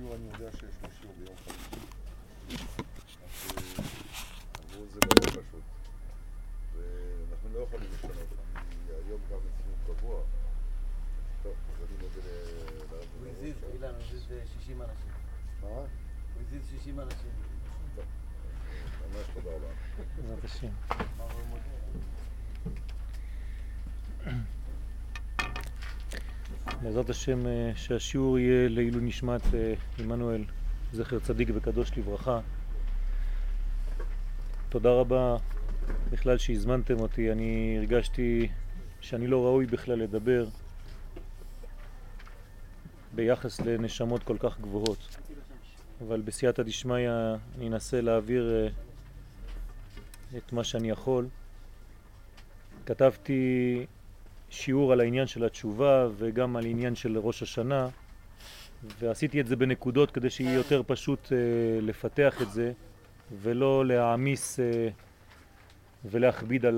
שיעור, אני יודע שיש לו שיעור ביום חמישי, אז אמרו זה מאוד פשוט, ואנחנו לא יכולים לשנות, כי היום גם ציון קבוע. טוב, אז אני מודה לרב. הוא הזיז, אילן, הוא הזיז 60 אנשים. מה? הוא הזיז 60 אנשים. טוב, ממש תודה רבה. בעזרת השם. מה הוא מודה? בעזרת השם שהשיעור יהיה לעילוי נשמת עמנואל, זכר צדיק וקדוש לברכה. תודה רבה בכלל שהזמנתם אותי. אני הרגשתי שאני לא ראוי בכלל לדבר ביחס לנשמות כל כך גבוהות, אבל בסייעתא דשמיא אני אנסה להעביר את מה שאני יכול. כתבתי שיעור על העניין של התשובה וגם על עניין של ראש השנה, ועשיתי את זה בנקודות כדי שיהיה יותר פשוט לפתח את זה ולא להעמיס ולהכביד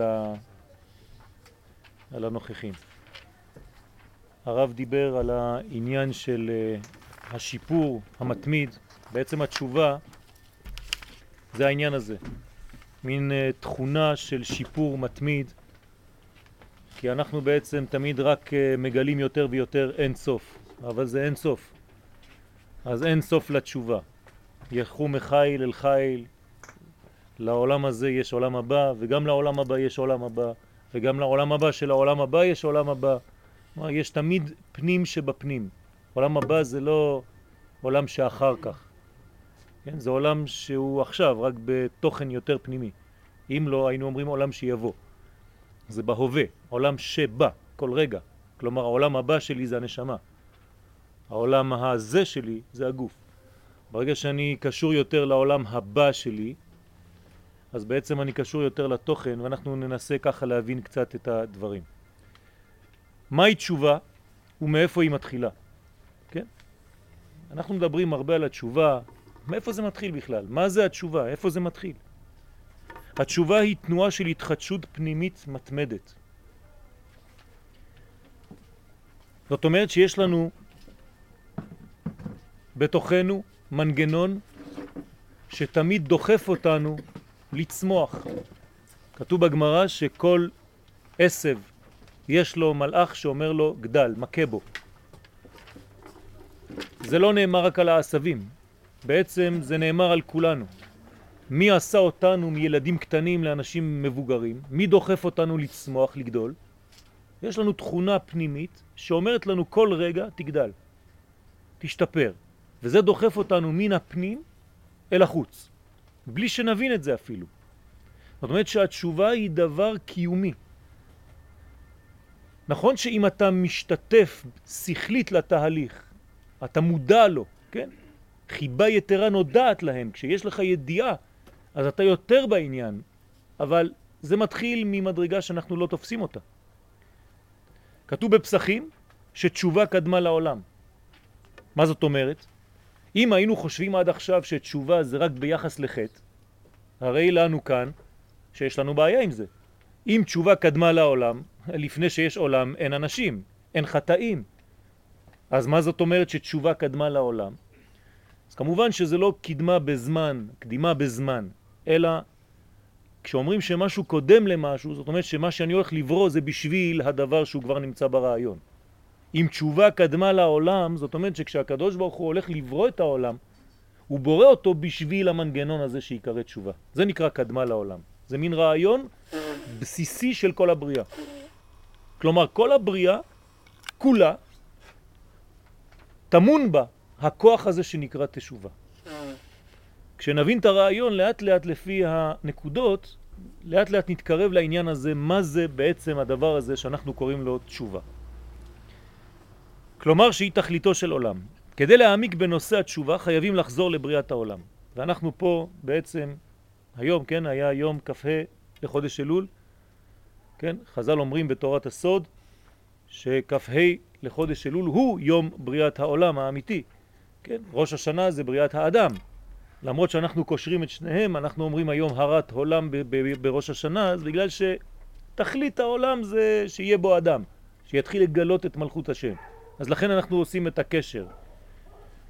על הנוכחים. הרב דיבר על העניין של השיפור המתמיד. בעצם התשובה זה העניין הזה, מין תכונה של שיפור מתמיד, כי אנחנו בעצם תמיד רק מגלים יותר ויותר אין סוף, אבל זה אין סוף. אז אין סוף לתשובה. ילכו מחיל אל חיל, לעולם הזה יש עולם הבא, וגם לעולם הבא יש עולם הבא, וגם לעולם הבא של העולם הבא יש עולם הבא. יש תמיד פנים שבפנים. עולם הבא זה לא עולם שאחר כך. כן? זה עולם שהוא עכשיו, רק בתוכן יותר פנימי. אם לא, היינו אומרים עולם שיבוא. זה בהווה, עולם שבא, כל רגע. כלומר, העולם הבא שלי זה הנשמה. העולם הזה שלי זה הגוף. ברגע שאני קשור יותר לעולם הבא שלי, אז בעצם אני קשור יותר לתוכן, ואנחנו ננסה ככה להבין קצת את הדברים. מהי תשובה ומאיפה היא מתחילה? כן? אנחנו מדברים הרבה על התשובה. מאיפה זה מתחיל בכלל? מה זה התשובה? איפה זה מתחיל? התשובה היא תנועה של התחדשות פנימית מתמדת. זאת אומרת שיש לנו בתוכנו מנגנון שתמיד דוחף אותנו לצמוח. כתוב בגמרא שכל עשב יש לו מלאך שאומר לו גדל, מכה בו. זה לא נאמר רק על העשבים, בעצם זה נאמר על כולנו. מי עשה אותנו מילדים קטנים לאנשים מבוגרים? מי דוחף אותנו לצמוח, לגדול? יש לנו תכונה פנימית שאומרת לנו כל רגע תגדל, תשתפר. וזה דוחף אותנו מן הפנים אל החוץ, בלי שנבין את זה אפילו. זאת אומרת שהתשובה היא דבר קיומי. נכון שאם אתה משתתף שכלית לתהליך, אתה מודע לו, כן? חיבה יתרה נודעת להם. כשיש לך ידיעה, אז אתה יותר בעניין, אבל זה מתחיל ממדרגה שאנחנו לא תופסים אותה. כתוב בפסחים שתשובה קדמה לעולם. מה זאת אומרת? אם היינו חושבים עד עכשיו שתשובה זה רק ביחס לחטא, הרי לנו כאן שיש לנו בעיה עם זה. אם תשובה קדמה לעולם, לפני שיש עולם אין אנשים, אין חטאים. אז מה זאת אומרת שתשובה קדמה לעולם? אז כמובן שזה לא קדמה בזמן, קדימה בזמן, אלא כשאומרים שמשהו קודם למשהו, זאת אומרת שמה שאני הולך לברוא זה בשביל הדבר שהוא כבר נמצא ברעיון. אם תשובה קדמה לעולם, זאת אומרת שכשהקדוש ברוך הוא הולך לברוא את העולם, הוא בורא אותו בשביל המנגנון הזה שיקרא תשובה. זה נקרא קדמה לעולם. זה מין רעיון בסיסי של כל הבריאה. כלומר, כל הבריאה, כולה, תמון בה הכוח הזה שנקרא תשובה. כשנבין את הרעיון לאט לאט לפי הנקודות, לאט לאט נתקרב לעניין הזה, מה זה בעצם הדבר הזה שאנחנו קוראים לו תשובה. כלומר שהיא תכליתו של עולם. כדי להעמיק בנושא התשובה חייבים לחזור לבריאת העולם. ואנחנו פה בעצם, היום, כן, היה יום כ"ה לחודש אלול, כן, חז"ל אומרים בתורת הסוד שכ"ה לחודש אלול הוא יום בריאת העולם האמיתי. כן, ראש השנה זה בריאת האדם. למרות שאנחנו קושרים את שניהם, אנחנו אומרים היום הרת עולם בראש השנה, אז בגלל שתכלית העולם זה שיהיה בו אדם, שיתחיל לגלות את מלכות השם. אז לכן אנחנו עושים את הקשר.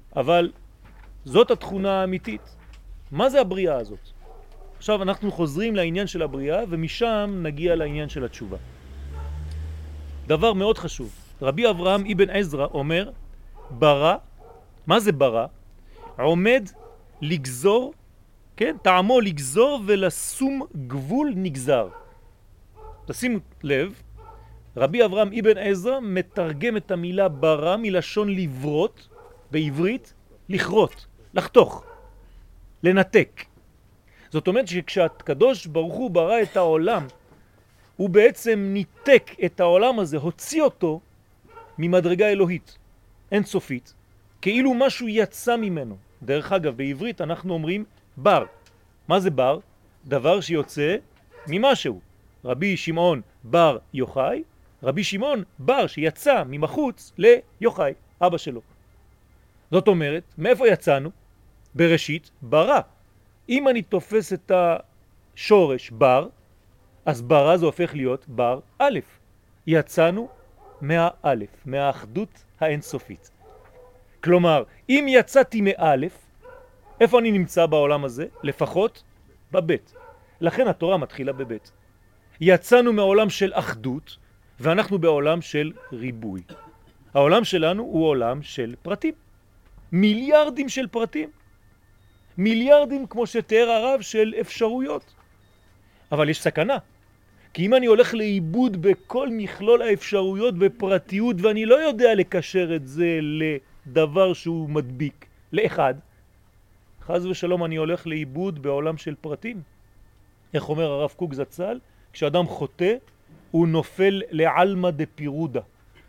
אבל זאת התכונה האמיתית. מה זה הבריאה הזאת? עכשיו אנחנו חוזרים לעניין של הבריאה, ומשם נגיע לעניין של התשובה. דבר מאוד חשוב. רבי אברהם אבן עזרא אומר, ברא, מה זה ברא? עומד לגזור, כן? טעמו לגזור ולשום גבול נגזר. תשימו לב, רבי אברהם אבן עזרא מתרגם את המילה ברא מלשון לברות, בעברית לכרות, לחתוך, לנתק. זאת אומרת שכשהקדוש ברוך הוא ברא את העולם, הוא בעצם ניתק את העולם הזה, הוציא אותו ממדרגה אלוהית, אינסופית, כאילו משהו יצא ממנו. דרך אגב, בעברית אנחנו אומרים בר. מה זה בר? דבר שיוצא ממשהו. רבי שמעון בר יוחאי, רבי שמעון בר שיצא ממחוץ ליוחאי, אבא שלו. זאת אומרת, מאיפה יצאנו? בראשית ברא. אם אני תופס את השורש בר, אז ברא זה הופך להיות בר א'. יצאנו מהאלף, מהאחדות האינסופית. כלומר, אם יצאתי מאלף, איפה אני נמצא בעולם הזה? לפחות בבית. לכן התורה מתחילה בבית. יצאנו מעולם של אחדות, ואנחנו בעולם של ריבוי. העולם שלנו הוא עולם של פרטים. מיליארדים של פרטים. מיליארדים, כמו שתיאר הרב, של אפשרויות. אבל יש סכנה. כי אם אני הולך לאיבוד בכל מכלול האפשרויות בפרטיות, ואני לא יודע לקשר את זה לדבר שהוא מדביק, לאחד, חז ושלום אני הולך לאיבוד בעולם של פרטים. איך אומר הרב קוק זצ"ל? כשאדם חוטא, הוא נופל לעלמא דפירודה.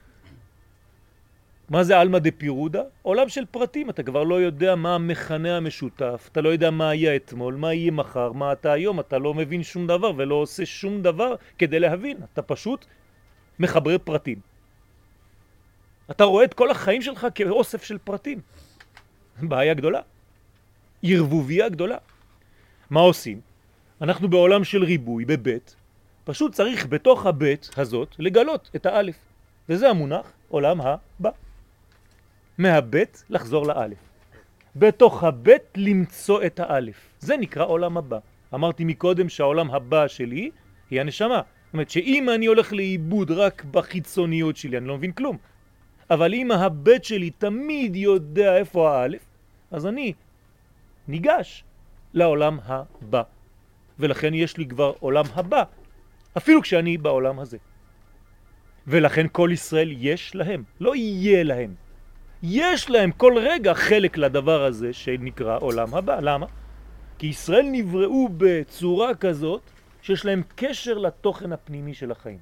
מה זה עלמא דפירודה? עולם של פרטים. אתה כבר לא יודע מה המכנה המשותף, אתה לא יודע מה היה אתמול, מה יהיה מחר, מה אתה היום, אתה לא מבין שום דבר ולא עושה שום דבר כדי להבין. אתה פשוט מחבר פרטים. אתה רואה את כל החיים שלך כאוסף של פרטים. בעיה גדולה. ערבוביה גדולה. מה עושים? אנחנו בעולם של ריבוי, בבית. פשוט צריך בתוך הבית הזאת לגלות את האלף. וזה המונח עולם הבא. מהבית לחזור לאלף. בתוך הבית למצוא את האלף. זה נקרא עולם הבא. אמרתי מקודם שהעולם הבא שלי היא הנשמה. זאת אומרת שאם אני הולך לאיבוד רק בחיצוניות שלי, אני לא מבין כלום. אבל אם הבית שלי תמיד יודע איפה האלף, אז אני ניגש לעולם הבא. ולכן יש לי כבר עולם הבא, אפילו כשאני בעולם הזה. ולכן כל ישראל יש להם, לא יהיה להם. יש להם כל רגע חלק לדבר הזה שנקרא עולם הבא. למה? כי ישראל נבראו בצורה כזאת שיש להם קשר לתוכן הפנימי של החיים.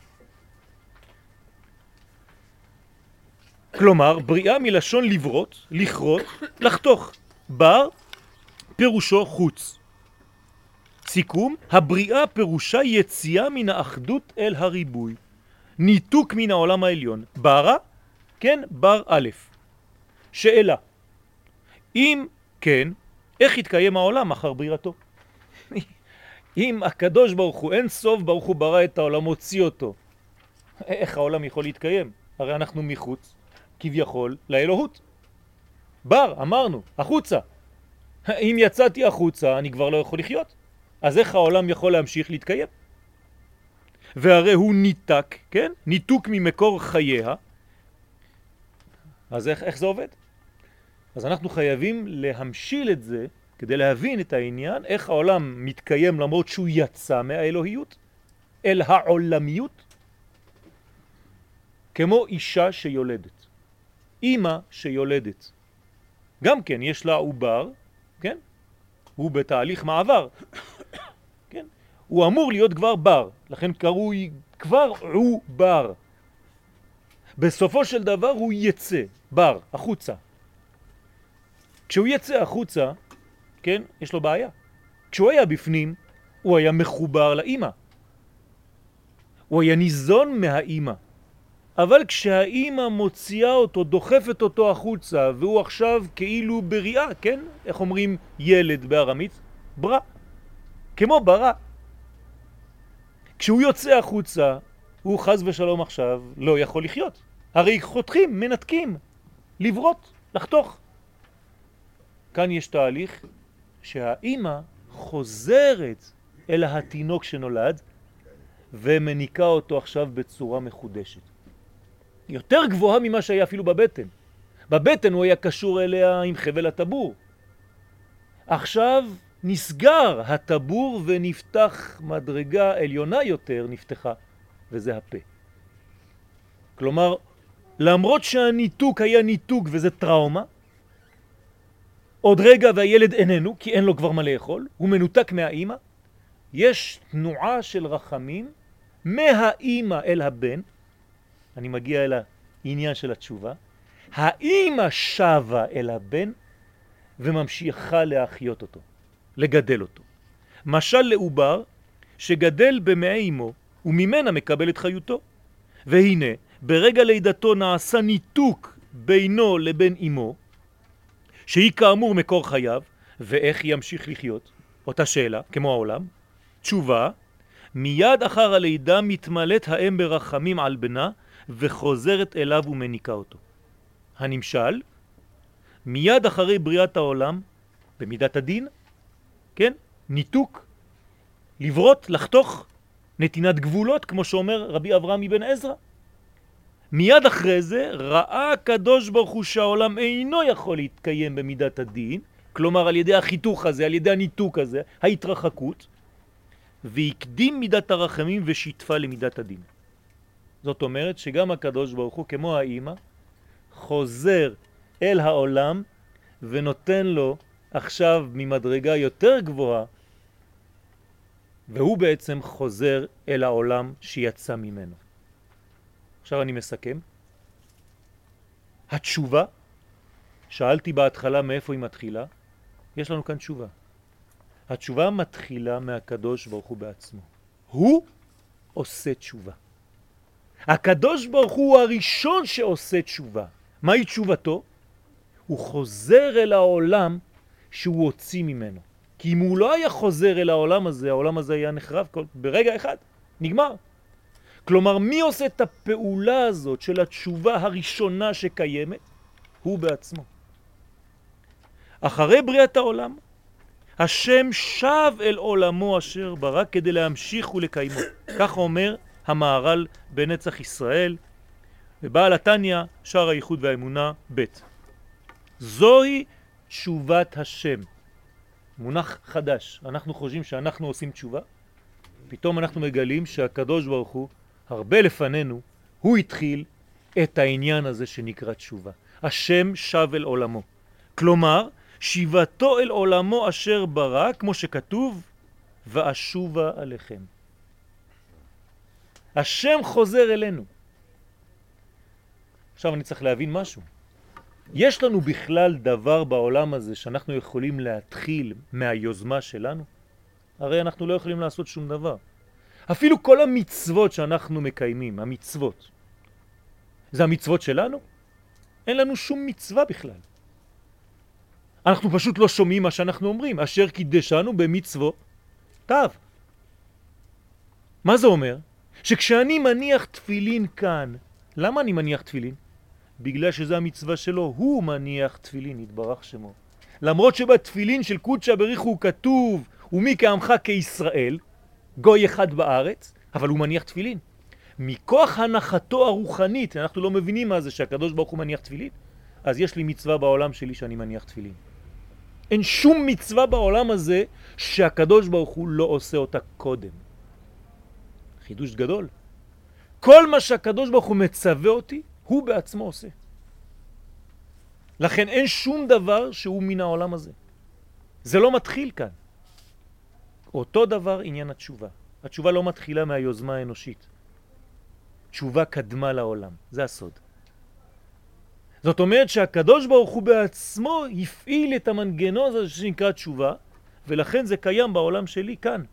כלומר, בריאה מלשון לברות, לכרות, לחתוך. בר פירושו חוץ. סיכום, הבריאה פירושה יציאה מן האחדות אל הריבוי. ניתוק מן העולם העליון. ברא, כן, בר א'. שאלה, אם כן, איך יתקיים העולם אחר בריאתו? אם הקדוש ברוך הוא, אין סוף ברוך הוא ברא את העולם, הוציא אותו, איך העולם יכול להתקיים? הרי אנחנו מחוץ, כביכול, לאלוהות. בר, אמרנו, החוצה. אם יצאתי החוצה, אני כבר לא יכול לחיות. אז איך העולם יכול להמשיך להתקיים? והרי הוא ניתק, כן? ניתוק ממקור חייה. אז איך זה עובד? אז אנחנו חייבים להמשיל את זה, כדי להבין את העניין, איך העולם מתקיים למרות שהוא יצא מהאלוהיות, אל העולמיות, כמו אישה שיולדת. אמא שיולדת. גם כן, יש לה עובר, כן? הוא בתהליך מעבר. כן? הוא אמור להיות כבר בר, לכן קרוי כבר עובר. בסופו של דבר הוא יצא, בר, החוצה. כשהוא יצא החוצה, כן, יש לו בעיה. כשהוא היה בפנים, הוא היה מחובר לאמא. הוא היה ניזון מהאמא. אבל כשהאמא מוציאה אותו, דוחפת אותו החוצה, והוא עכשיו כאילו בריאה, כן? איך אומרים ילד בארמית? ברא. כמו ברא. כשהוא יוצא החוצה, הוא חז ושלום עכשיו לא יכול לחיות. הרי חותכים, מנתקים, לברות, לחתוך. כאן יש תהליך שהאימא חוזרת אל התינוק שנולד ומניקה אותו עכשיו בצורה מחודשת. יותר גבוהה ממה שהיה אפילו בבטן. בבטן הוא היה קשור אליה עם חבל הטבור. עכשיו נסגר הטבור ונפתח מדרגה עליונה יותר נפתחה, וזה הפה. כלומר, למרות שהניתוק היה ניתוק וזה טראומה, עוד רגע והילד איננו, כי אין לו כבר מה לאכול, הוא מנותק מהאימא, יש תנועה של רחמים מהאימא אל הבן, אני מגיע אל העניין של התשובה, האימא שווה אל הבן וממשיכה להחיות אותו, לגדל אותו. משל לעובר שגדל במעי אמו וממנה מקבל את חיותו. והנה, ברגע לידתו נעשה ניתוק בינו לבין אמו, שהיא כאמור מקור חייו, ואיך ימשיך לחיות? אותה שאלה, כמו העולם. תשובה, מיד אחר הלידה מתמלאת האם ברחמים על בנה וחוזרת אליו ומניקה אותו. הנמשל, מיד אחרי בריאת העולם, במידת הדין, כן? ניתוק, לברות, לחתוך, נתינת גבולות, כמו שאומר רבי אברהם אבן עזרא. מיד אחרי זה ראה הקדוש ברוך הוא שהעולם אינו יכול להתקיים במידת הדין, כלומר על ידי החיתוך הזה, על ידי הניתוק הזה, ההתרחקות, והקדים מידת הרחמים ושיתפה למידת הדין. זאת אומרת שגם הקדוש ברוך הוא, כמו האמא, חוזר אל העולם ונותן לו עכשיו ממדרגה יותר גבוהה, והוא בעצם חוזר אל העולם שיצא ממנו. עכשיו אני מסכם. התשובה, שאלתי בהתחלה מאיפה היא מתחילה, יש לנו כאן תשובה. התשובה מתחילה מהקדוש ברוך הוא בעצמו. הוא עושה תשובה. הקדוש ברוך הוא הראשון שעושה תשובה. מהי תשובתו? הוא חוזר אל העולם שהוא הוציא ממנו. כי אם הוא לא היה חוזר אל העולם הזה היה נחרב ברגע אחד, נגמר. כלומר, מי עושה את הפעולה הזאת של התשובה הראשונה שקיימת? הוא בעצמו. אחרי בריאת העולם, השם שב אל עולמו אשר ברא כדי להמשיך ולקיימו. כך אומר המהר"ל בנצח ישראל, ובעל התניא, שער הייחוד והאמונה ב'. זוהי תשובת השם. מונח חדש. אנחנו חושבים שאנחנו עושים תשובה, פתאום אנחנו מגלים שהקדוש ברוך הוא, הרבה לפנינו, הוא התחיל את העניין הזה שנקרא תשובה. השם שב אל עולמו. כלומר, שיבתו אל עולמו אשר ברא, כמו שכתוב, ואשובה עליכם. השם חוזר אלינו. עכשיו אני צריך להבין משהו. יש לנו בכלל דבר בעולם הזה שאנחנו יכולים להתחיל מהיוזמה שלנו? הרי אנחנו לא יכולים לעשות שום דבר. אפילו כל המצוות שאנחנו מקיימים, המצוות, זה המצוות שלנו? אין לנו שום מצווה בכלל. אנחנו פשוט לא שומעים מה שאנחנו אומרים, אשר קידשנו במצוות תו. מה זה אומר? שכשאני מניח תפילין כאן, למה אני מניח תפילין? בגלל שזה המצווה שלו, הוא מניח תפילין, יתברך שמו. למרות שבתפילין של קודשא בריך הוא כתוב, ומי כעמך כישראל, גוי אחד בארץ, אבל הוא מניח תפילין. מכוח הנחתו הרוחנית, אנחנו לא מבינים מה זה שהקדוש ברוך הוא מניח תפילין, אז יש לי מצווה בעולם שלי שאני מניח תפילין. אין שום מצווה בעולם הזה שהקדוש ברוך הוא לא עושה אותה קודם. חידוש גדול. כל מה שהקדוש ברוך הוא מצווה אותי, הוא בעצמו עושה. לכן אין שום דבר שהוא מן העולם הזה. זה לא מתחיל כאן. אותו דבר עניין התשובה. התשובה לא מתחילה מהיוזמה האנושית. תשובה קדמה לעולם. זה הסוד. זאת אומרת שהקדוש ברוך הוא בעצמו הפעיל את המנגנון הזה שנקרא תשובה, ולכן זה קיים בעולם שלי כאן.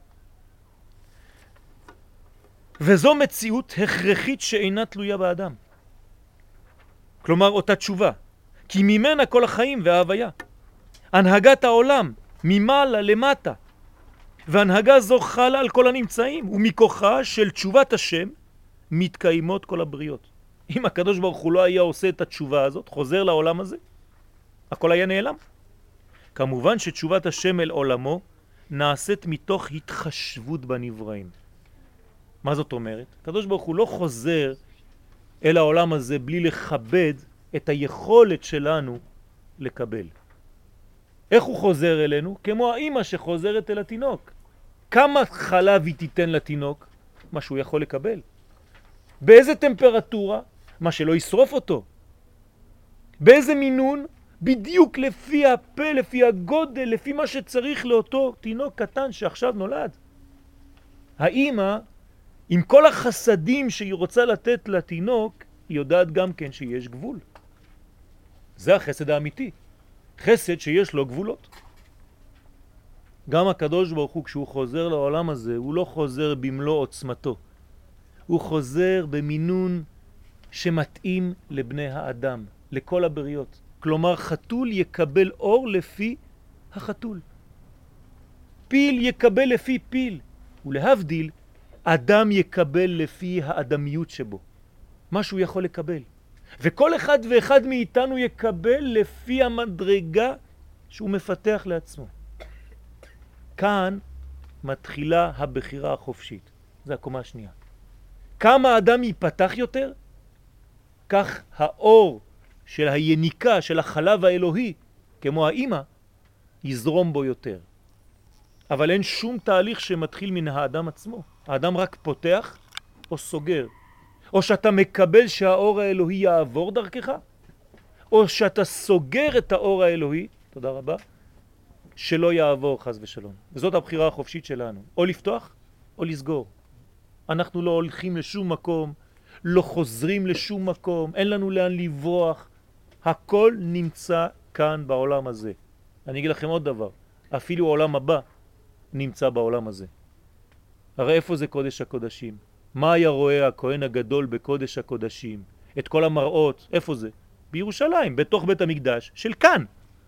וזו מציאות הכרחית שאינה תלויה באדם. כלומר אותה תשובה, כי ממנה כל החיים וההוויה. הנהגת העולם ממעלה למטה, והנהגה זו חלה על כל הנמצאים, ומכוחה של תשובת השם מתקיימות כל הבריות. אם הקדוש ברוך הוא לא היה עושה את התשובה הזאת, חוזר לעולם הזה, הכל היה נעלם. כמובן שתשובת השם אל עולמו נעשית מתוך התחשבות בנבראים. מה זאת אומרת? הקדוש ברוך הוא לא חוזר אל העולם הזה בלי לכבד את היכולת שלנו לקבל. איך הוא חוזר אלינו? כמו האמא שחוזרת אל התינוק. כמה חלב היא תיתן לתינוק? מה שהוא יכול לקבל. באיזה טמפרטורה? מה שלא ישרוף אותו. באיזה מינון? בדיוק לפי הפה, לפי הגודל, לפי מה שצריך לאותו תינוק קטן שעכשיו נולד. האמא, עם כל החסדים שהיא רוצה לתת לתינוק, היא יודעת גם כן שיש גבול. זה החסד האמיתי. חסד שיש לו גבולות. גם הקדוש ברוך הוא כשהוא חוזר לעולם הזה, הוא לא חוזר במלוא עוצמתו. הוא חוזר במינון שמתאים לבני האדם, לכל הבריות. כלומר, חתול יקבל אור לפי החתול. פיל יקבל לפי פיל. ולהבדיל, אדם יקבל לפי האדמיות שבו. מה שהוא יכול לקבל. וכל אחד ואחד מאיתנו יקבל לפי המדרגה שהוא מפתח לעצמו. כאן מתחילה הבחירה החופשית. זה הקומה השנייה. כמה אדם ייפתח יותר, כך האור של היניקה, של החלב האלוהי, כמו האמא, יזרום בו יותר. אבל אין שום תהליך שמתחיל מן האדם עצמו. האדם רק פותח או סוגר. או שאתה מקבל שהאור האלוהי יעבור דרכך, או שאתה סוגר את האור האלוהי, תודה רבה, שלא יעבור חס ושלום. וזאת הבחירה החופשית שלנו. או לפתוח או לסגור. אנחנו לא הולכים לשום מקום, לא חוזרים לשום מקום, אין לנו לאן לברוח. הכל נמצא כאן בעולם הזה. אני אגיד לכם עוד דבר, אפילו העולם הבא נמצא בעולם הזה. הרי איפה זה קודש הקודשים? מה היה רואה הכהן הגדול בקודש הקודשים? את כל המראות, איפה זה? בירושלים, בתוך בית המקדש של כאן.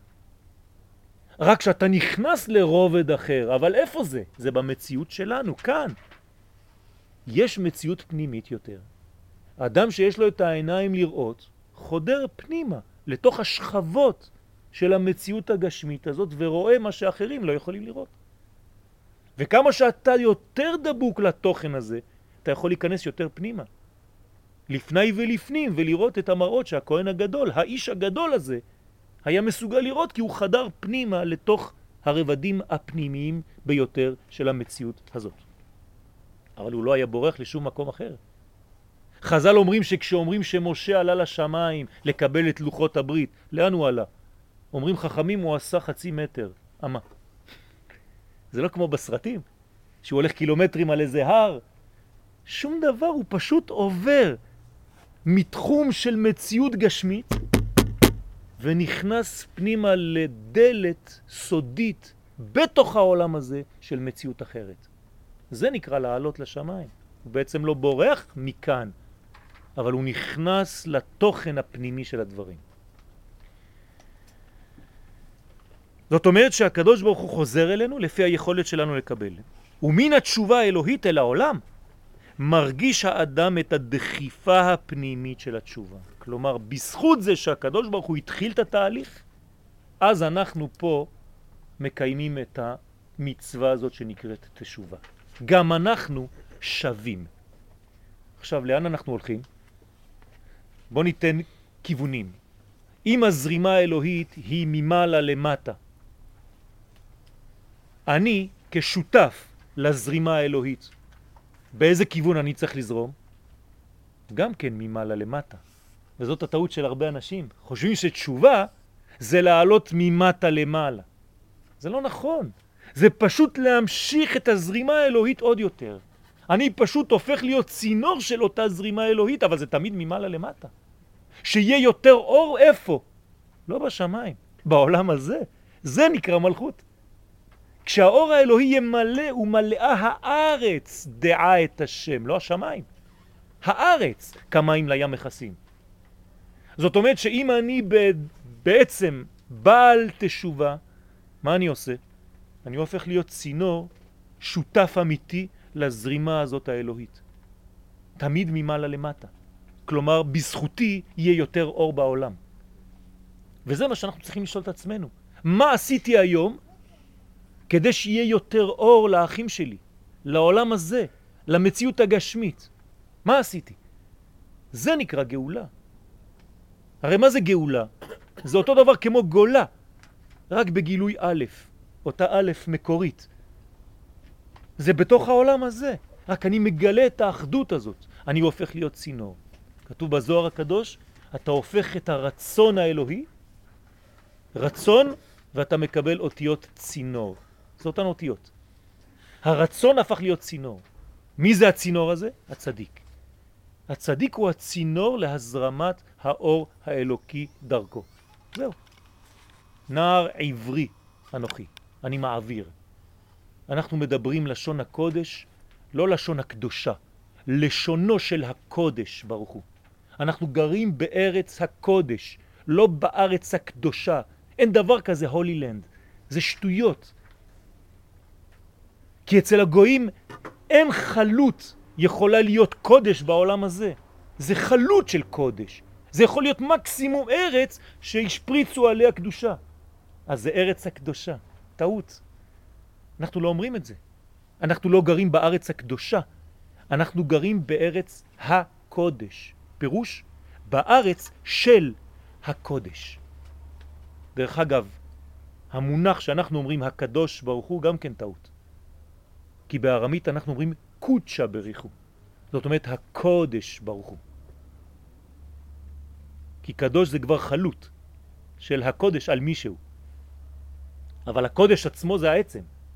רק שאתה נכנס לרובד אחר, אבל איפה זה? זה במציאות שלנו, כאן. יש מציאות פנימית יותר. האדם שיש לו את העיניים לראות, חודר פנימה, לתוך השכבות של המציאות הגשמית הזאת, ורואה מה שאחרים לא יכולים לראות. וכמה שאתה יותר דבוק לתוכן הזה, אתה יכול להיכנס יותר פנימה. לפני ולפנים, ולראות את המראות שהכהן הגדול, האיש הגדול הזה, היה מסוגל לראות, כי הוא חדר פנימה לתוך הרבדים הפנימיים ביותר של המציאות הזאת. אבל הוא לא היה בורח לשום מקום אחר. חז"ל אומרים שכשאומרים שמשה עלה לשמיים לקבל את לוחות הברית, לאן הוא עלה? אומרים חכמים הוא עשה 0.5 מטר. אמה. זה לא כמו בסרטים, שהוא הולך קילומטרים על איזה הר. שום דבר, הוא פשוט עובר מתחום של מציאות גשמית, ונכנס פנימה לדלת סודית בתוך העולם הזה של מציאות אחרת. זה נקרא לעלות לשמיים. הוא בעצם לא בורח מכאן, אבל הוא נכנס לתוכן הפנימי של הדברים. זאת אומרת שהקדוש ברוך הוא חוזר אלינו לפי היכולת שלנו לקבל. ומן התשובה האלוהית אל העולם, מרגיש האדם את הדחיפה הפנימית של התשובה. כלומר, בזכות זה שהקדוש ברוך הוא התחיל את התהליך, אז אנחנו פה מקיימים את המצווה הזאת שנקראת תשובה. גם אנחנו שווים. עכשיו, לאן אנחנו הולכים? בוא ניתן כיוונים. אם הזרימה האלוהית היא ממעלה למטה, אני כשותף לזרימה האלוהית, באיזה כיוון אני צריך לזרום? גם כן ממעלה למטה. וזאת הטעות של הרבה אנשים. חושבים שתשובה זה לעלות ממטה למעלה. זה לא נכון. זה פשוט להמשיך את הזרימה האלוהית עוד יותר. אני פשוט הופך להיות צינור של אותה זרימה אלוהית, אבל זה תמיד ממעלה למטה. שיהיה יותר אור איפה? לא בשמיים, בעולם הזה. זה נקרא מלכות. כשהאור האלוהי ימלא ומלאה הארץ דעה את השם, לא השמיים. הארץ כמים לים מכסים. זאת אומרת שאם אני בעצם בעל תשובה, מה אני עושה? אני הופך להיות צינור שותף אמיתי לזרימה הזאת האלוהית. תמיד ממעלה למטה. כלומר, בזכותי יהיה יותר אור בעולם. וזה מה שאנחנו צריכים לשאול את עצמנו. מה עשיתי היום כדי שיהיה יותר אור לאחים שלי, לעולם הזה, למציאות הגשמית? מה עשיתי? זה נקרא גאולה. הרי מה זה גאולה? זה אותו דבר כמו גולה, רק בגילוי א', אותה א' מקורית. זה בתוך העולם הזה, רק אני מגלה את האחדות הזאת, אני הופך להיות צינור. כתוב בזוהר הקדוש, אתה הופך את הרצון האלוהי, רצון, ואתה מקבל אותיות צינור. זה אותן אותיות. הרצון הפך להיות צינור. מי זה הצינור הזה? הצדיק. הצדיק הוא הצינור להזרמת האור האלוקי דרכו. זהו. נער עברי אנוכי, אני מעביר. אנחנו מדברים לשון הקודש, לא לשון הקדושה, לשונו של הקודש ברוך הוא. אנחנו גרים בארץ הקודש, לא בארץ הקדושה. אין דבר כזה הולי לנד, זה שטויות. כי אצל הגויים אין חלות יכולה להיות קודש בעולם הזה. זה חלות של קודש. זה יכול להיות מקסימום ארץ שהשפריצו עליה קדושה. אז זה ארץ הקדושה. טעות. אנחנו לא אומרים את זה. אנחנו לא גרים בארץ הקדושה. אנחנו גרים בארץ הקודש. פירוש? בארץ של הקודש. דרך אגב, המונח שאנחנו אומרים הקדוש ברוך הוא גם כן טעות. כי בארמית אנחנו אומרים קודשה בריחו. זאת אומרת הקודש ברוך הוא. כי קדוש זה כבר חלות של הקודש על מישהו. אבל הקודש עצמו זה העצם.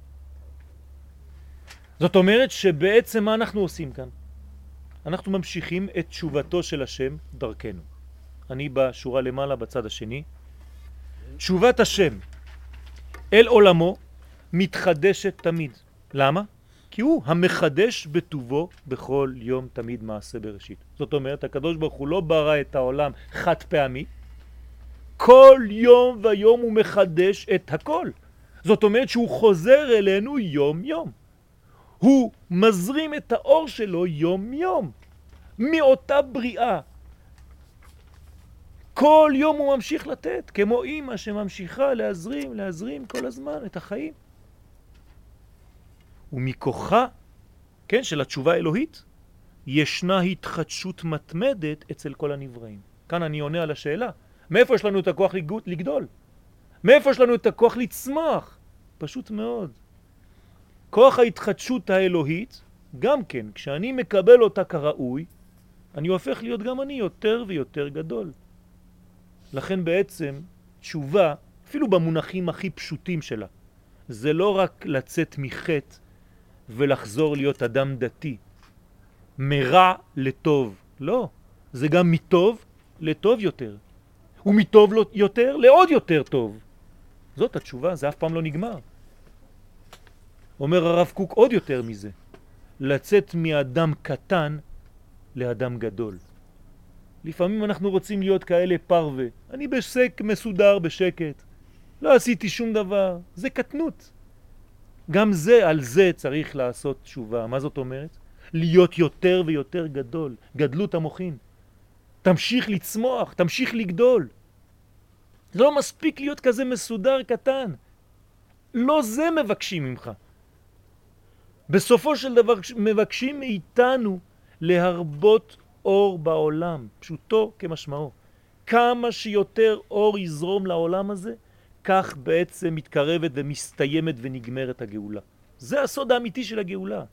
זאת אומרת שבעצם מה אנחנו עושים כאן? אנחנו ממשיכים את תשובתו של השם דרכנו. אני בשורה למעלה בצד השני. תשובת השם אל עולמו מתחדשת תמיד. למה? כי הוא המחדש בטובו בכל יום תמיד מעשה בראשית. זאת אומרת, הקדוש ברוך הוא לא ברא את העולם חד פעמי, כל יום ויום הוא מחדש את הכל. זאת אומרת שהוא חוזר אלינו יום יום. הוא מזרים את האור שלו יום יום. מאותה בריאה. כל יום הוא ממשיך לתת, כמו אמא שממשיכה להזרים כל הזמן את החיים. ומכוחה, כן, של התשובה האלוהית, ישנה התחדשות מתמדת אצל כל הנבראים. כאן אני עונה על השאלה, מאיפה יש לנו את הכוח לגדול? מאיפה יש לנו את הכוח לצמח? פשוט מאוד. כוח ההתחדשות האלוהית, גם כן, כשאני מקבל אותה כראוי, אני הופך להיות גם אני יותר ויותר גדול. לכן בעצם תשובה, אפילו במונחים הכי פשוטים שלה, זה לא רק לצאת מחטא ולחזור להיות אדם דתי, מרע לטוב, לא, זה גם מטוב לטוב יותר, ומטוב יותר לעוד יותר טוב. זאת התשובה, זה אף פעם לא נגמר. אומר הרב קוק עוד יותר מזה, לצאת מאדם קטן לאדם גדול. לפעמים אנחנו רוצים להיות כאלה פרווה, אני בשק מסודר בשקט, לא עשיתי שום דבר, זה קטנות. גם זה, על זה צריך לעשות תשובה. מה זאת אומרת? להיות יותר ויותר גדול, גדלות המוחין. תמשיך לצמוח, תמשיך לגדול. זה לא מספיק להיות כזה מסודר קטן. לא זה מבקשים ממך. בסופו של דבר מבקשים מאיתנו להרבות אור בעולם, פשוטו כמשמעו. כמה שיותר אור יזרום לעולם הזה, כך בעצם מתקרבת ומסתיימת ונגמרת הגאולה. זה הסוד האמיתי של הגאולה.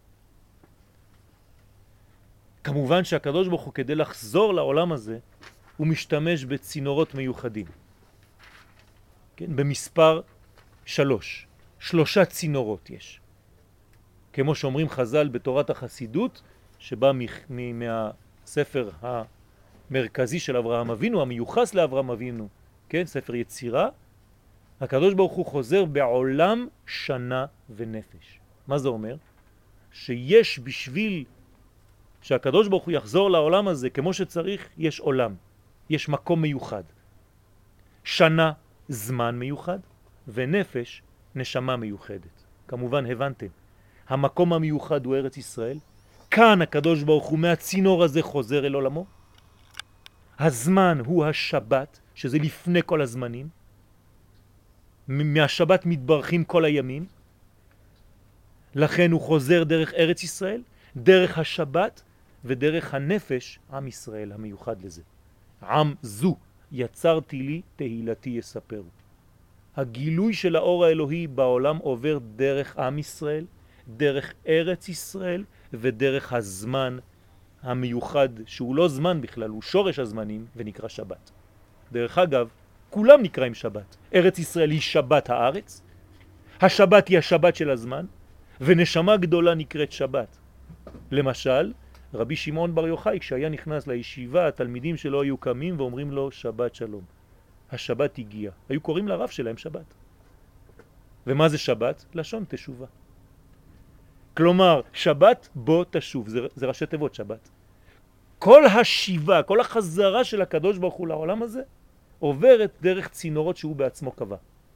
כמובן שהקדוש ברוך הוא כדי לחזור לעולם הזה, הוא משתמש בצינורות מיוחדים. כן? במספר 3. 3 צינורות יש. כמו שאומרים חז"ל בתורת החסידות, שבא מהספר המרכזי של אברהם אבינו, המיוחס לאברהם אבינו, כן? ספר יצירה, הקדוש ברוך הוא חוזר בעולם שנה ונפש. מה זה אומר? שיש בשביל שהקדוש ברוך הוא יחזור לעולם הזה כמו שצריך, יש עולם, יש מקום מיוחד. שנה זמן מיוחד ונפש נשמה מיוחדת. כמובן הבנתם, המקום המיוחד הוא ארץ ישראל, כאן הקדוש ברוך הוא מהצינור הזה חוזר אל עולמו. הזמן הוא השבת, שזה לפני כל הזמנים. מהשבת מתברכים כל הימים, לכן הוא חוזר דרך ארץ ישראל, דרך השבת ודרך הנפש, עם ישראל המיוחד לזה. עם זו יצרתי לי, תהילתי יספרו. הגילוי של האור האלוהי בעולם עובר דרך עם ישראל, דרך ארץ ישראל ודרך הזמן המיוחד, שהוא לא זמן בכלל, הוא שורש הזמנים ונקרא שבת. דרך אגב, כולם נקראים שבת. ארץ ישראל היא שבת הארץ, השבת היא השבת של הזמן, ונשמה גדולה נקראת שבת. למשל, רבי שמעון בר יוחאי, כשהיה נכנס לישיבה, התלמידים שלו היו קמים ואומרים לו שבת שלום. השבת הגיעה. היו קוראים לרב שלהם שבת. ומה זה שבת? לשון תשובה. כלומר, שבת בוא תשוב, זה ראשי תיבות שבת. כל השיבה, כל החזרה של הקדוש ברוך הוא לעולם הזה, עוברת דרך צינורות שהוא בעצמו קבע.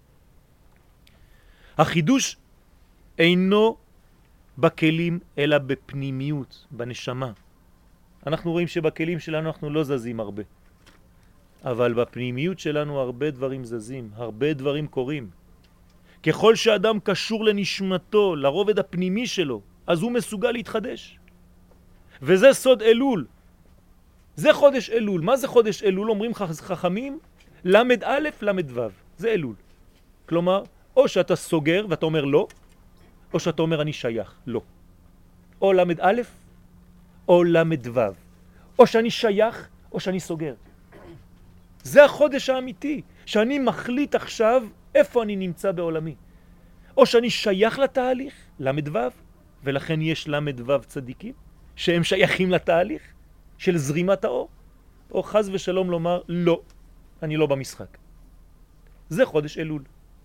החידוש אינו בכלים אלא בפנימיות, בנשמה. אנחנו רואים שבכלים שלנו אנחנו לא זזים הרבה. אבל בפנימיות שלנו הרבה דברים זזים, הרבה דברים קורים. ככל שאדם קשור לנשמתו, לרובד הפנימי שלו, אז הוא מסוגל להתחדש. וזה סוד אלול. זה חודש אלול. מה זה חודש אלול? אומרים חכמים, למד א', למד ו'. זה אלול. כלומר, או שאתה סוגר ואתה אומר לא, או שאתה אומר אני שייך, לא. או למד א', או למד ו'. או שאני שייך, או שאני סוגר. זה החודש האמיתי, שאני מחליט עכשיו איפה אני נמצא בעולמי. או שאני שייך לתהליך, למד ו', ולכן יש למד ו' צדיקים, שהם שייכים לתהליך של זרימת האור, או חז ושלום לומר, לא, אני לא במשחק. זה חודש אלול.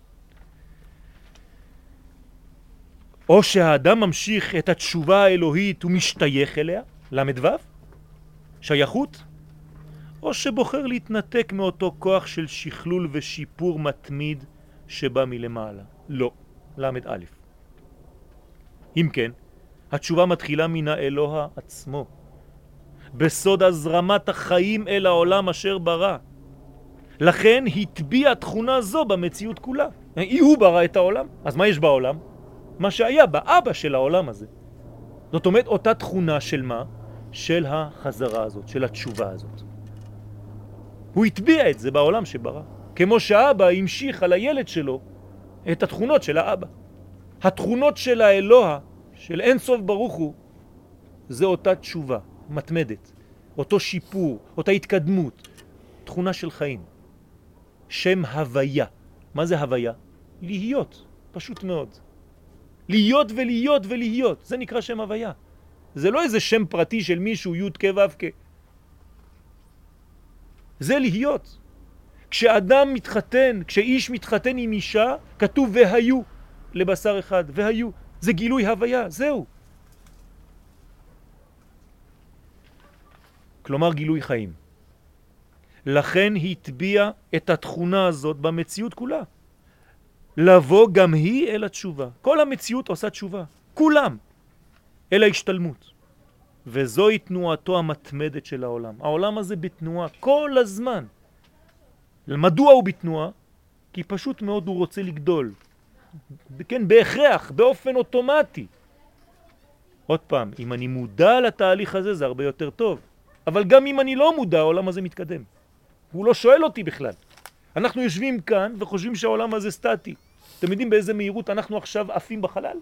או שהאדם ממשיך את התשובה האלוהית ומשתייך אליה, למד ו', שייכות, או שבוחר להתנתק מאותו כוח של שכלול ושיפור מתמיד שבא מלמעלה. לא, למד א'. אם כן, התשובה מתחילה מן האלוה עצמו, בסוד הזרמת החיים אל העולם אשר ברא. לכן התביע תכונה זו במציאות כולה. הוא ברא את העולם, אז מה יש בעולם? מה שהיה באבא של העולם הזה. זאת אומרת, אותה תכונה של מה? של החזרה הזאת, של התשובה הזאת. הוא התביע את זה בעולם שברא. כמו שהאבא המשיך על הילד שלו את התכונות של האבא. התכונות של האלוה, של אין סוף ברוך הוא, זה אותה תשובה, מתמדת. אותו שיפור, אותה התקדמות. תכונה של חיים. שם הוויה. מה זה הוויה? להיות. פשוט מאוד. להיות ולהיות ולהיות. זה נקרא שם הוויה. זה לא איזה שם פרטי של מישהו, י' כ' ו' כ'. זה להיות. כשאדם מתחתן, כשאיש מתחתן עם אישה, כתוב והיו לבשר אחד, והיו. זה גילוי הוויה, זהו. כלומר גילוי חיים. לכן התביע את התכונה הזאת במציאות כולה. לבוא גם היא אל התשובה. כל המציאות עושה תשובה. כולם. אל ההשתלמות. וזוהי תנועתו המתמדת של העולם. העולם הזה בתנועה כל הזמן. מדוע הוא בתנועה? כי פשוט מאוד הוא רוצה לגדול. כן, בהכרח, באופן אוטומטי. עוד פעם, אם אני מודע לתהליך הזה זה הרבה יותר טוב. אבל גם אם אני לא מודע, העולם הזה מתקדם. הוא לא שואל אותי בכלל. אנחנו יושבים כאן וחושבים שהעולם הזה סטטי. אתם יודעים באיזה מהירות אנחנו עכשיו עפים בחלל?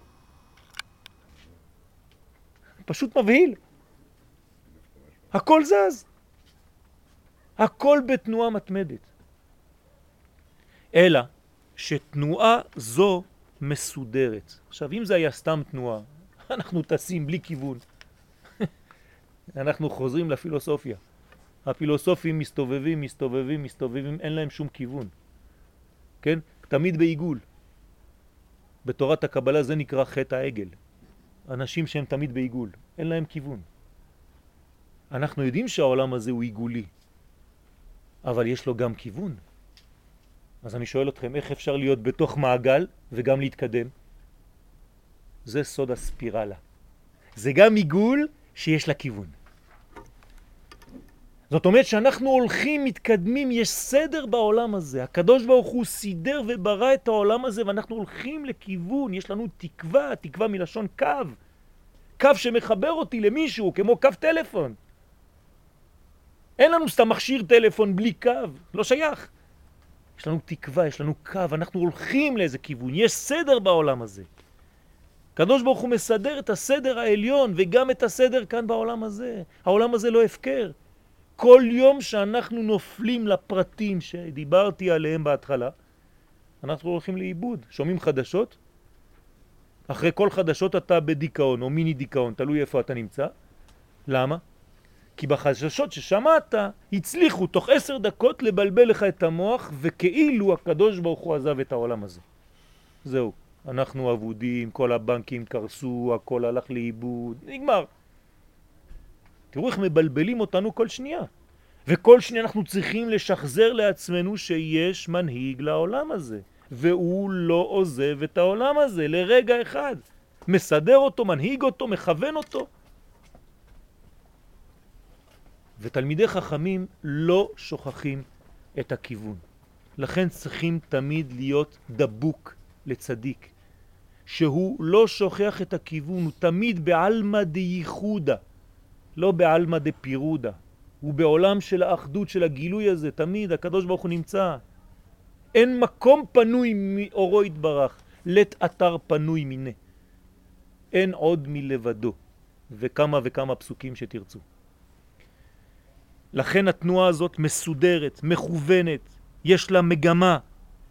פשוט מבהיל. הכל זז. הכל בתנועה מתמדת. אלא שתנועה זו מסודרת. עכשיו, אם זה היה סתם תנועה, אנחנו טסים בלי כיוון. אנחנו חוזרים לפילוסופיה. הפילוסופים מסתובבים, מסתובבים, מסתובבים, אין להם שום כיוון. כן? תמיד בעיגול. בתורת הקבלה זה נקרא חטא העגל. אנשים שהם תמיד בעיגול, אין להם כיוון. אנחנו יודעים שהעולם הזה הוא עיגולי, אבל יש לו גם כיוון. אז אני שואל אתכם, איך אפשר להיות בתוך מעגל וגם להתקדם? זה סוד הספירלה. זה גם עיגול שיש לה כיוון. זאת אומרת שאנחנו הולכים, מתקדמים, יש סדר בעולם הזה. הקדוש ברוך הוא סידר וברא את העולם הזה, ואנחנו הולכים לכיוון, יש לנו תקווה, תקווה מלשון קו. קו שמחבר אותי למישהו, כמו קו טלפון. אין לנו סתם מכשיר טלפון בלי קו, לא שייך. יש לנו תקווה, יש לנו קו, אנחנו הולכים לאיזה כיוון, יש סדר בעולם הזה. הקדוש ברוך הוא מסדר את הסדר העליון וגם את הסדר כאן בעולם הזה. העולם הזה לא הפקר. כל יום שאנחנו נופלים לפרטים שדיברתי עליהם בהתחלה, אנחנו הולכים לאיבוד. שומעים חדשות? אחרי כל חדשות אתה בדיכאון או מיני דיכאון, תלוי איפה אתה נמצא. למה? כי בחדשות ששמעת הצליחו תוך 10 דקות לבלבל לך את המוח, וכאילו הקדוש ברוך הוא עזב את העולם הזה. זהו, אנחנו עבודים, כל הבנקים קרסו, הכל הלך לאיבוד, נגמר. תראו איך מבלבלים אותנו כל שנייה. וכל שנייה אנחנו צריכים לשחזר לעצמנו שיש מנהיג לעולם הזה. והוא לא עוזב את העולם הזה לרגע אחד. מסדר אותו, מנהיג אותו, מכוון אותו. ותלמידי חכמים לא שוכחים את הכיוון. לכן צריכים תמיד להיות דבוק לצדיק. שהוא לא שוכח את הכיוון, הוא תמיד בעלמא דייחודה. לא בעלמא דפירודה. הוא בעולם של האחדות, של הגילוי הזה. תמיד הקדוש ברוך הוא נמצא. אין מקום פנוי מאורו יתברך. לית אתר פנוי מיני. אין עוד מלבדו. וכמה וכמה פסוקים שתרצו. לכן התנועה הזאת מסודרת, מכוונת. יש לה מגמה.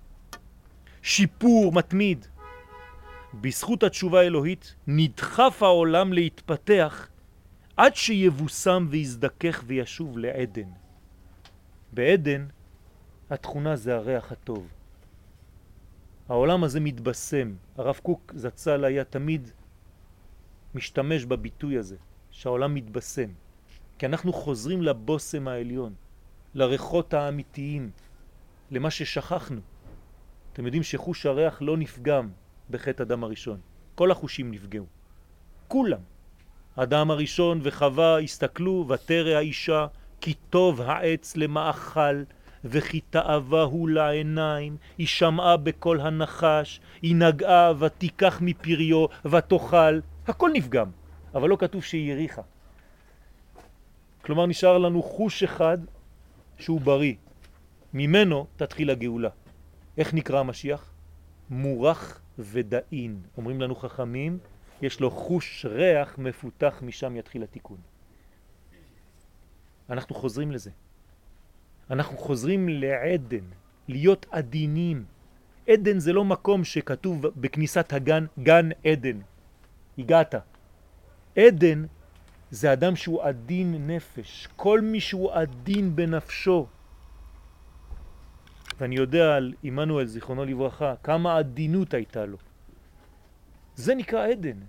שיפור מתמיד. בזכות התשובה האלוהית נדחף העולם להתפתח עד שיבוסם ויזדכך וישוב לעדן. בעדן התכונה זה הריח הטוב. העולם הזה מתבשם. הרב קוק זצ"ל היה תמיד משתמש בביטוי הזה, שהעולם מתבשם. כי אנחנו חוזרים לבוסם העליון, לריחות האמיתיים, למה ששכחנו. אתם יודעים שחוש הריח לא נפגם בחטא אדם הראשון. כל החושים נפגעו. כולם. אדם הראשון וחווה הסתכלו ותרא האישה כי טוב העץ למאכל וכי תאווה הוא לעיניים. היא שמעה בקול הנחש, היא נגעה ותיקח מפריו ותאכל. הכל נפגם, אבל לא כתוב שהיא יריחה. כלומר נשאר לנו חוש אחד שהוא בריא. ממנו תתחיל הגאולה. איך נקרא המשיח? מורח ודאין. אומרים לנו חכמים, יש לו חוש ריח מפותח, משם יתחיל התיקון. אנחנו חוזרים לזה. אנחנו חוזרים לעדן, להיות עדינים. עדן זה לא מקום שכתוב בכניסת הגן, גן עדן. הגעת. עדן זה אדם שהוא עדין נפש. כל מי שהוא עדין בנפשו. ואני יודע על עמנואל זיכרונו לברכה, כמה עדינות הייתה לו. זה נקרא עדן.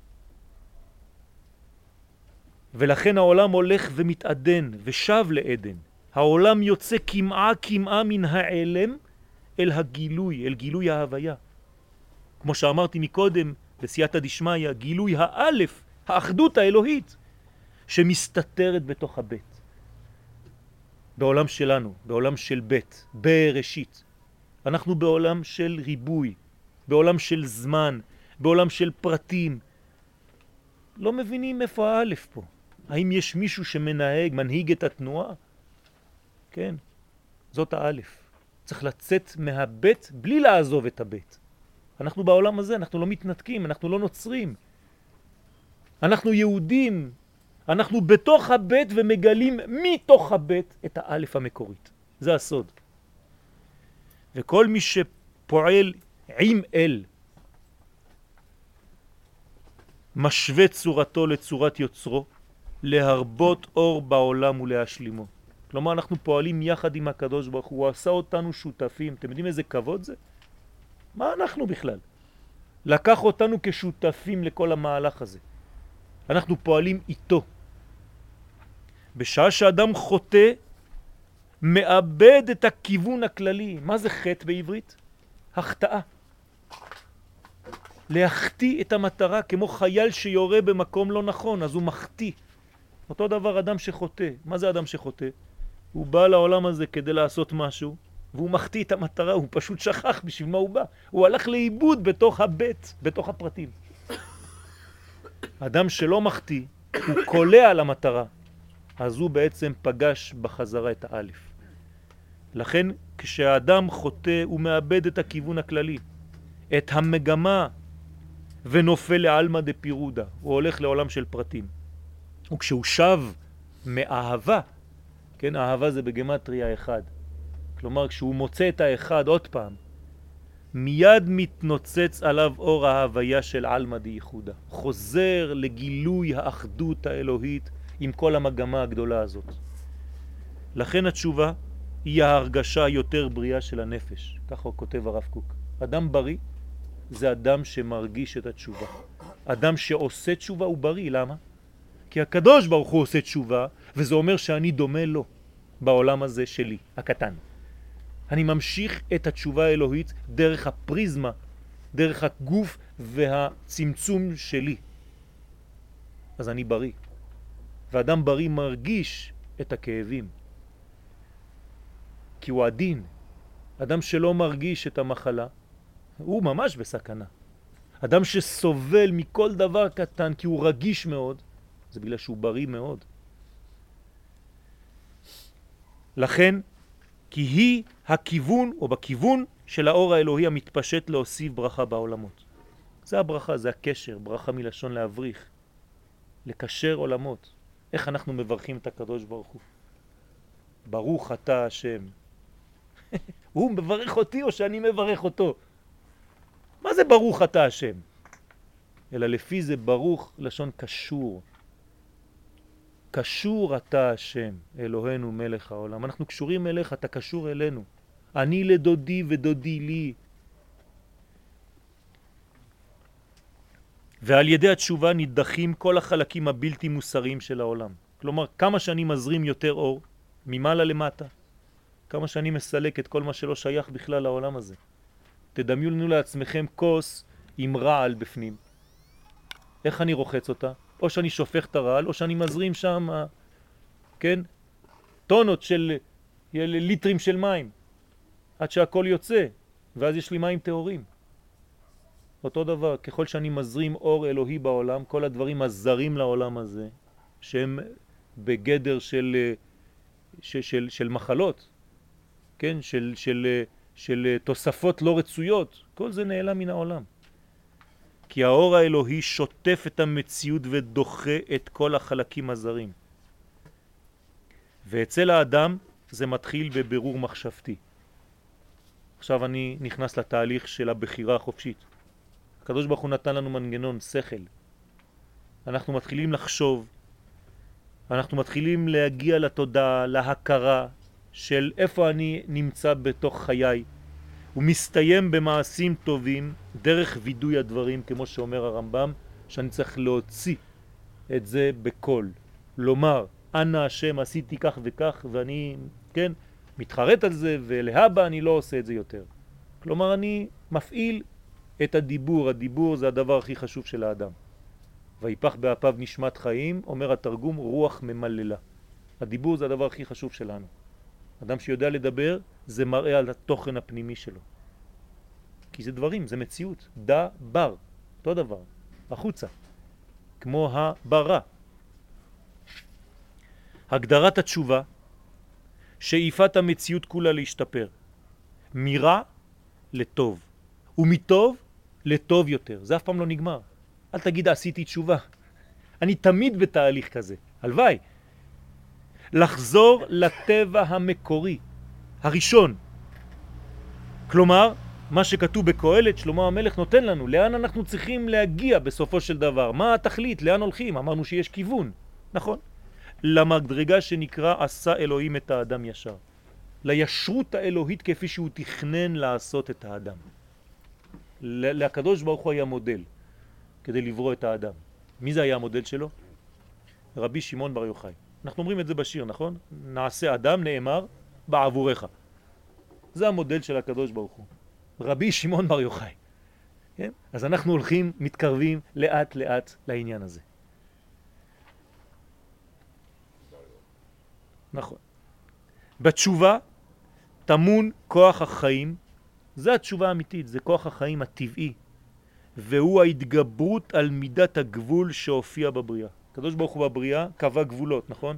ולכן העולם הולך ומתעדן ושב לעדן. העולם יוצא כמעה מן העלם אל הגילוי, אל גילוי ההוויה. כמו שאמרתי מקודם, בסייעתא דשמיא, גילוי האלף, האחדות האלוהית, שמסתתרת בתוך הבית. בעולם שלנו, בעולם של בית, בראשית. אנחנו בעולם של ריבוי, בעולם של זמן, בעולם של פרטים. לא מבינים איפה האלף פה. האם יש מישהו שמנהג, מנהיג את התנועה? כן, זאת האלף. צריך לצאת מהבית בלי לעזוב את הבית. אנחנו בעולם הזה, אנחנו לא מתנתקים, אנחנו לא נוצרים. אנחנו יהודים, אנחנו בתוך הבית ומגלים מתוך הבית את האלף המקורית. זה הסוד. וכל מי שפועל עם אל, משווה צורתו לצורת יוצרו, להרבות אור בעולם ולהשלימו. כלומר, אנחנו פועלים יחד עם הקדוש ברוך הוא, הוא עשה אותנו שותפים. אתם יודעים איזה כבוד זה? מה אנחנו בכלל? לקח אותנו כשותפים לכל המהלך הזה. אנחנו פועלים איתו. בשעה שאדם חוטא, מאבד את הכיוון הכללי. מה זה חטא בעברית? החטאה. להחטיא את המטרה, כמו חייל שיורה במקום לא נכון, אז הוא מחטיא. אותו דבר אדם שחוטא. מה זה אדם שחוטא? הוא בא לעולם הזה כדי לעשות משהו, והוא מחטיא את המטרה, הוא פשוט שכח בשביל מה הוא בא. הוא הלך לאיבוד בתוך הבית, בתוך הפרטים. אדם שלא מחטיא, הוא קולע על המטרה, אז הוא בעצם פגש בחזרה את האלף. לכן כשהאדם חוטא הוא מאבד את הכיוון הכללי, את המגמה, ונופל לעלמא דפירודה, הוא הולך לעולם של פרטים. וכשהוא שב מאהבה, כן, אהבה זה בגמטריה אחד, כלומר כשהוא מוצא את האחד עוד פעם, מיד מתנוצץ עליו אור ההוויה של עלמא דייחודה, חוזר לגילוי האחדות האלוהית עם כל המגמה הגדולה הזאת. לכן התשובה היא ההרגשה יותר בריאה של הנפש, ככה הוא כותב הרב קוק. אדם בריא זה אדם שמרגיש את התשובה. אדם שעושה תשובה הוא בריא, למה? כי הקדוש ברוך הוא עושה תשובה, וזה אומר שאני דומה לו בעולם הזה שלי, הקטן. אני ממשיך את התשובה האלוהית דרך הפריזמה, דרך הגוף והצמצום שלי. אז אני בריא. ואדם בריא מרגיש את הכאבים. כי הוא עדין. אדם שלא מרגיש את המחלה, הוא ממש בסכנה. אדם שסובל מכל דבר קטן כי הוא רגיש מאוד, זה בגלל שהוא בריא מאוד. לכן, כי היא הכיוון או בכיוון של האור האלוהי המתפשט להוסיף ברכה בעולמות. זה הברכה, זה הקשר, ברכה מלשון להבריך, לקשר עולמות. איך אנחנו מברכים את הקדוש ברוך הוא? ברוך אתה השם. הוא מברך אותי או שאני מברך אותו? מה זה ברוך אתה השם? אלא לפי זה ברוך לשון קשור. קשור אתה השם, אלוהינו מלך העולם. אנחנו קשורים אליך, אתה קשור אלינו. אני לדודי ודודי לי. ועל ידי התשובה נדחים כל החלקים הבלתי מוסריים של העולם. כלומר, כמה שאני מזרים יותר אור, ממעלה למטה, כמה שאני מסלק את כל מה שלא שייך בכלל לעולם הזה. תדמיינו לעצמכם כוס עם רעל בפנים. איך אני רוחץ אותה? או שאני שופך את הרעל, או שאני מזרים שם, כן, טונות של ליטרים של מים, עד שהכל יוצא, ואז יש לי מים טהורים. אותו דבר, ככל שאני מזרים אור אלוהי בעולם, כל הדברים הזרים לעולם הזה, שהם בגדר של מחלות, כן, של תוספות לא רצויות, כל זה נעלם מן העולם. כי האור האלוהי שוטף את המציאות ודוחה את כל החלקים הזרים. ואצל האדם זה מתחיל בבירור מחשבתי. עכשיו אני נכנס לתהליך של הבחירה החופשית. הקדוש ברוך הוא נתן לנו מנגנון, שכל. אנחנו מתחילים לחשוב, אנחנו מתחילים להגיע לתודעה, להכרה של איפה אני נמצא בתוך חיי. הוא מסתיים במעשים טובים דרך וידוי הדברים, כמו שאומר הרמב"ם, שאני צריך להוציא את זה בקול. לומר, אנא השם עשיתי כך וכך, ואני, כן, מתחרט על זה, ולהבא אני לא עושה את זה יותר. כלומר, אני מפעיל את הדיבור. הדיבור זה הדבר הכי חשוב של האדם. ויפח באפיו נשמת חיים, אומר התרגום, רוח ממללה. הדיבור זה הדבר הכי חשוב שלנו. אדם שיודע לדבר, זה מראה על התוכן הפנימי שלו. כי זה דברים, זה מציאות. דבר, אותו דבר, החוצה. כמו הברה. הגדרת התשובה, שאיפת המציאות כולה להשתפר. מרע לטוב. ומטוב לטוב יותר. זה אף פעם לא נגמר. אל תגיד עשיתי תשובה. אני תמיד בתהליך כזה. הלוואי. לחזור לטבע המקורי, הראשון. כלומר, מה שכתוב בקהלת, שלמה המלך נותן לנו, לאן אנחנו צריכים להגיע בסופו של דבר, מה התכלית, לאן הולכים, אמרנו שיש כיוון, נכון? למדרגה שנקרא עשה אלוהים את האדם ישר, לישרות האלוהית כפי שהוא תכנן לעשות את האדם. לקדוש ברוך הוא היה מודל כדי לברוא את האדם. מי זה היה המודל שלו? רבי שמעון בר יוחאי. אנחנו אומרים את זה בשיר, נכון? נעשה אדם נאמר בעבורך. זה המודל של הקדוש ברוך הוא. רבי שמעון בר יוחאי. כן? אז אנחנו הולכים, מתקרבים לאט לאט לעניין הזה. נכון. בתשובה טמון כוח החיים, זה התשובה האמיתית, זה כוח החיים הטבעי, והוא ההתגברות על מידת הגבול שהופיע בבריאה. הקדוש ברוך הוא בבריאה קבע גבולות, נכון?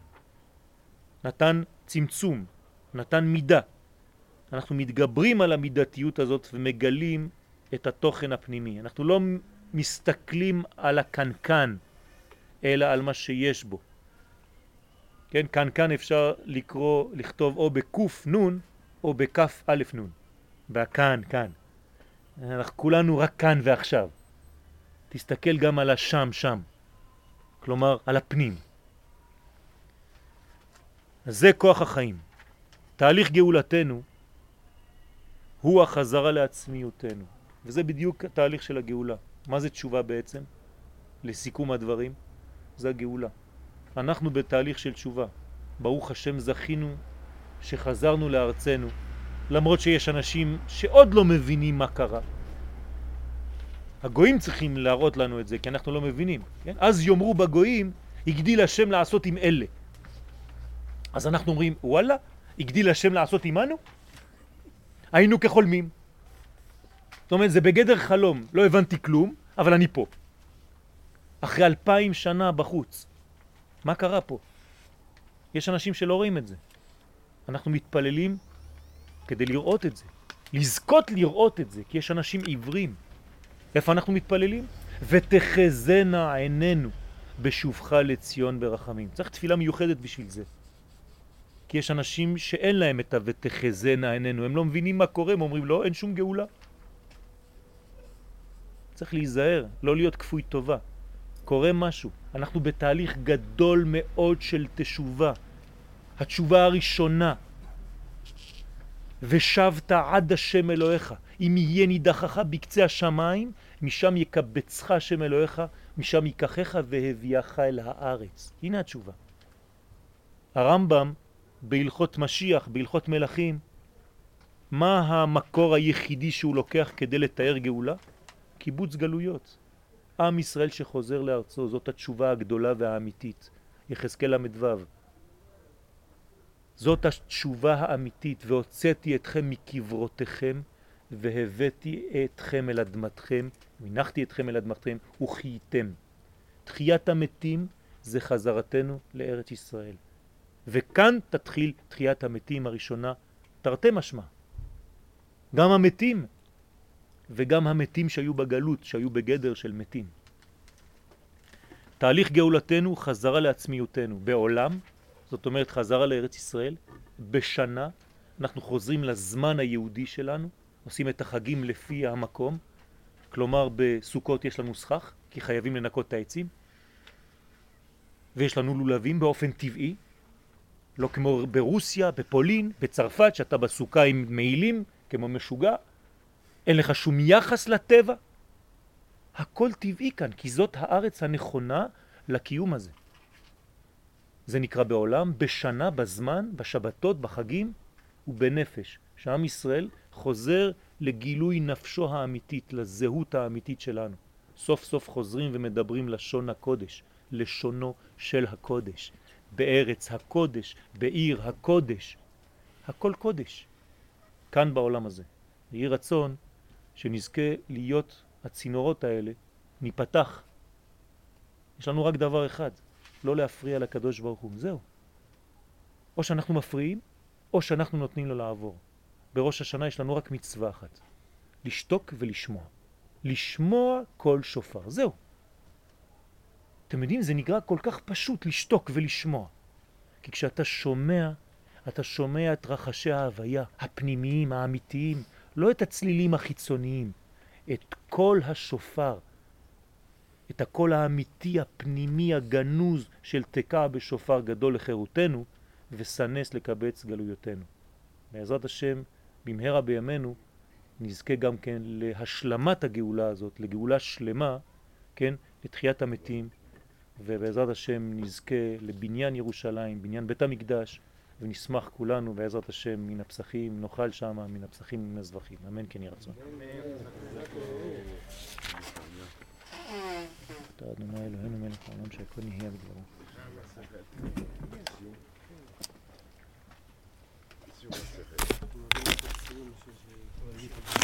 נתן צמצום, נתן מידה. אנחנו מתגברים על המידתיות הזאת ומגלים את התוכן הפנימי. אנחנו לא מסתכלים על הקנקן, אלא על מה שיש בו. כן, קנקן אפשר לכתוב או בקוף נון או בכף א' נון. והכאן, כאן. אנחנו כולנו רק כאן ועכשיו. תסתכל גם על השם, שם. כלומר, על הפנים. אז זה כוח החיים. תהליך גאולתנו הוא החזרה לעצמיותנו. וזה בדיוק התהליך של הגאולה. מה זה תשובה בעצם? לסיכום הדברים, זה הגאולה. אנחנו בתהליך של תשובה. ברוך השם זכינו שחזרנו לארצנו, למרות שיש אנשים שעוד לא מבינים מה קרה. הגויים צריכים להראות לנו את זה, כי אנחנו לא מבינים. כן? אז יאמרו בגויים, הגדיל השם לעשות עם אלה. אז אנחנו אומרים, וואלה, הגדיל השם לעשות עמנו? היינו כחולמים. זאת אומרת, זה בגדר חלום. לא הבנתי כלום, אבל אני פה. אחרי 2000 שנה בחוץ. מה קרה פה? יש אנשים שלא רואים את זה. אנחנו מתפללים כדי לראות את זה. לזכות לראות את זה, כי יש אנשים עיוורים. איפה אנחנו מתפללים? ותחזנה עינינו בשובך לציון ברחמים. צריך תפילה מיוחדת בשביל זה. כי יש אנשים שאין להם את ותחזנה עינינו. הם לא מבינים מה קורה, הם אומרים לא, אין שום גאולה. צריך להיזהר, לא להיות כפוי טובה. קורה משהו. אנחנו בתהליך גדול מאוד של תשובה. התשובה הראשונה. ושבת עד השם אלוהיך. אם יהיה נידחך בקצה השמיים, משם יקבצך השם אלוהיך, משם ייקחך והביאך אל הארץ. הנה התשובה. הרמב"ם בהלכות משיח, בהלכות מלכים, מה המקור היחידי שהוא לוקח כדי לתאר גאולה? קיבוץ גלויות. עם ישראל שחוזר לארצו, זאת התשובה הגדולה והאמיתית. יחזקאל למדוו. זאת התשובה האמיתית, והוצאתי אתכם מקברותיכם, והבאתי אתכם אל אדמתכם, מנחתי אתכם אל אדמתכם, וחייתם. תחיית המתים זה חזרתנו לארץ ישראל. וכאן תתחיל תחיית המתים הראשונה, תרתי משמע. גם המתים, וגם המתים שהיו בגלות, שהיו בגדר של מתים. תהליך גאולתנו חזרה לעצמיותנו בעולם, זאת אומרת חזרה לארץ ישראל, בשנה אנחנו חוזרים לזמן היהודי שלנו, עושים את החגים לפי המקום, כלומר בסוכות יש לנו סכך, כי חייבים לנקות את העצים, ויש לנו לולבים באופן טבעי, לא כמו ברוסיה, בפולין, בצרפת, שאתה בסוכה עם מעילים, כמו משוגע, אין לך שום יחס לטבע. הכל טבעי כאן, כי זאת הארץ הנכונה לקיום הזה. זה נקרא בעולם, בשנה, בזמן, בשבתות, בחגים ובנפש. שעם ישראל חוזר לגילוי נפשו האמיתית, לזהות האמיתית שלנו. סוף סוף חוזרים ומדברים לשון הקודש, לשונו של הקודש. בארץ הקודש, בעיר הקודש. הכל קודש. כאן בעולם הזה. יהי רצון שנזכה להיות הצינורות האלה, ניפתח. יש לנו רק דבר אחד, לא להפריע לקדוש ברוך הוא. זהו. או שאנחנו מפריעים, או שאנחנו נותנים לו לעבור. בראש השנה יש לנו רק מצווה אחת. לשתוק ולשמוע. לשמוע כל שופר. זהו. אתם יודעים, זה נקרא כל כך פשוט לשתוק ולשמוע. כי כשאתה שומע, אתה שומע את רחשי ההוויה, הפנימיים, האמיתיים, לא את הצלילים החיצוניים, את כל השופר, את הקול האמיתי, הפנימי, הגנוז של תקע בשופר גדול לחירותנו, וסנס לקבץ גלויותינו. בעזרת השם, במהרה בימינו, נזכה גם כן להשלמת הגאולה הזאת, לגאולה שלמה, כן, לתחיית המתים, ובעזרת השם נזכה לבניין ירושלים, בניין בית המקדש, ונשמח כולנו בעזרת השם מן הפסחים, נאכל שמה מן הפסחים ומן הזבחים. אמן כן יהי רצון. אתה אדוני אלוהינו מלך העולם שהכל נהיה בדברו. נגיד.